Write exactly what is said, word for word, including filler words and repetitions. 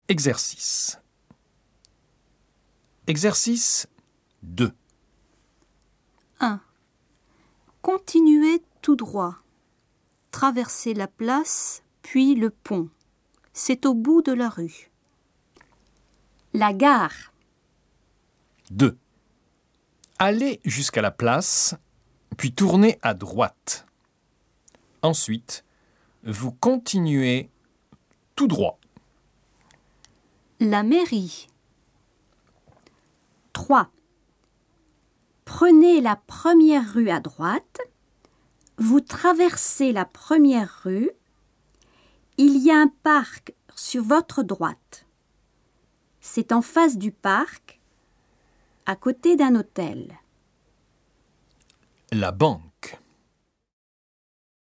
Exercice. Exercice deux. un. Continuez tout droit. Traversez la place, puis le pont. C'est au bout de la rue. La gare. deux. Allez jusqu'à la place, puis tournez à droite. Ensuite, vous continuez tout droit. La mairie. trois. Prenez la première rue à droite. Vous traversez la première rue. Il y a un parc sur votre droite. C'est en face du parc, à côté d'un hôtel. La banque.